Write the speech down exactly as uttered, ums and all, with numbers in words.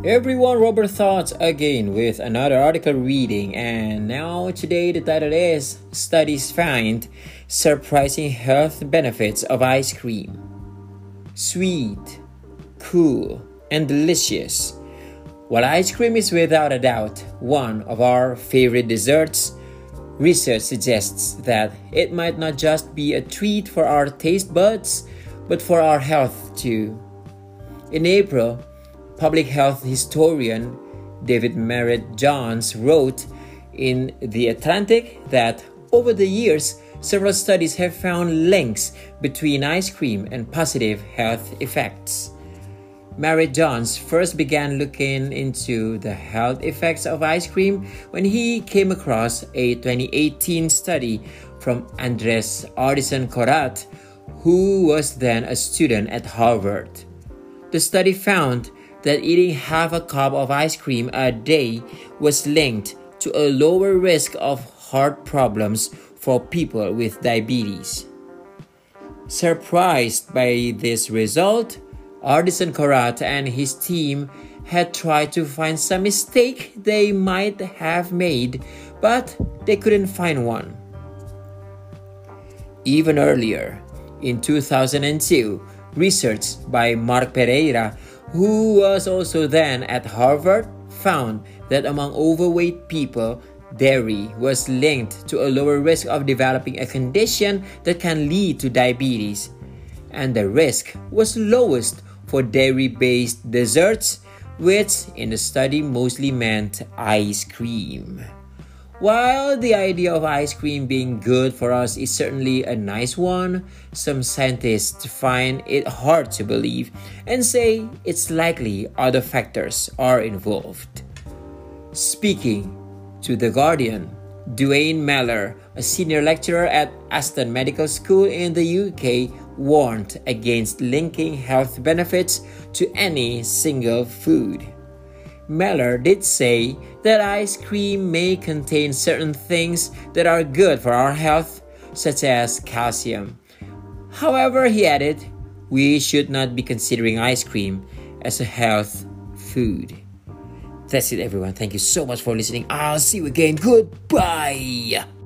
Everyone, Robert Thoughts again with another article reading, and now today the title is Studies Find Surprising Health Benefits of Ice Cream. Sweet, cool, and delicious. While ice cream is without a doubt one of our favorite desserts, research suggests that it might not just be a treat for our taste buds, but for our health too. In April, public health historian David Merritt Johns wrote in The Atlantic that over the years, several studies have found links between ice cream and positive health effects. Merritt Johns first began looking into the health effects of ice cream when he came across a twenty eighteen study from Andres Ardison-Korat, who was then a student at Harvard. The study found that eating half a cup of ice cream a day was linked to a lower risk of heart problems for people with diabetes. Surprised by this result, Ardison-Korat and his team had tried to find some mistake they might have made, but they couldn't find one. Even earlier, in two thousand two, research by Mark Pereira, who was also then at Harvard, found that among overweight people, dairy was linked to a lower risk of developing a condition that can lead to diabetes, and the risk was lowest for dairy-based desserts, which in the study mostly meant ice cream. While the idea of ice cream being good for us is certainly a nice one, some scientists find it hard to believe and say it's likely other factors are involved. Speaking to The Guardian, Duane Meller, a senior lecturer at Aston Medical School in the U K, warned against linking health benefits to any single food. Meller did say that ice cream may contain certain things that are good for our health, such as calcium. However, he added, we should not be considering ice cream as a health food. That's it, everyone. Thank you so much for listening. I'll see you again. Goodbye.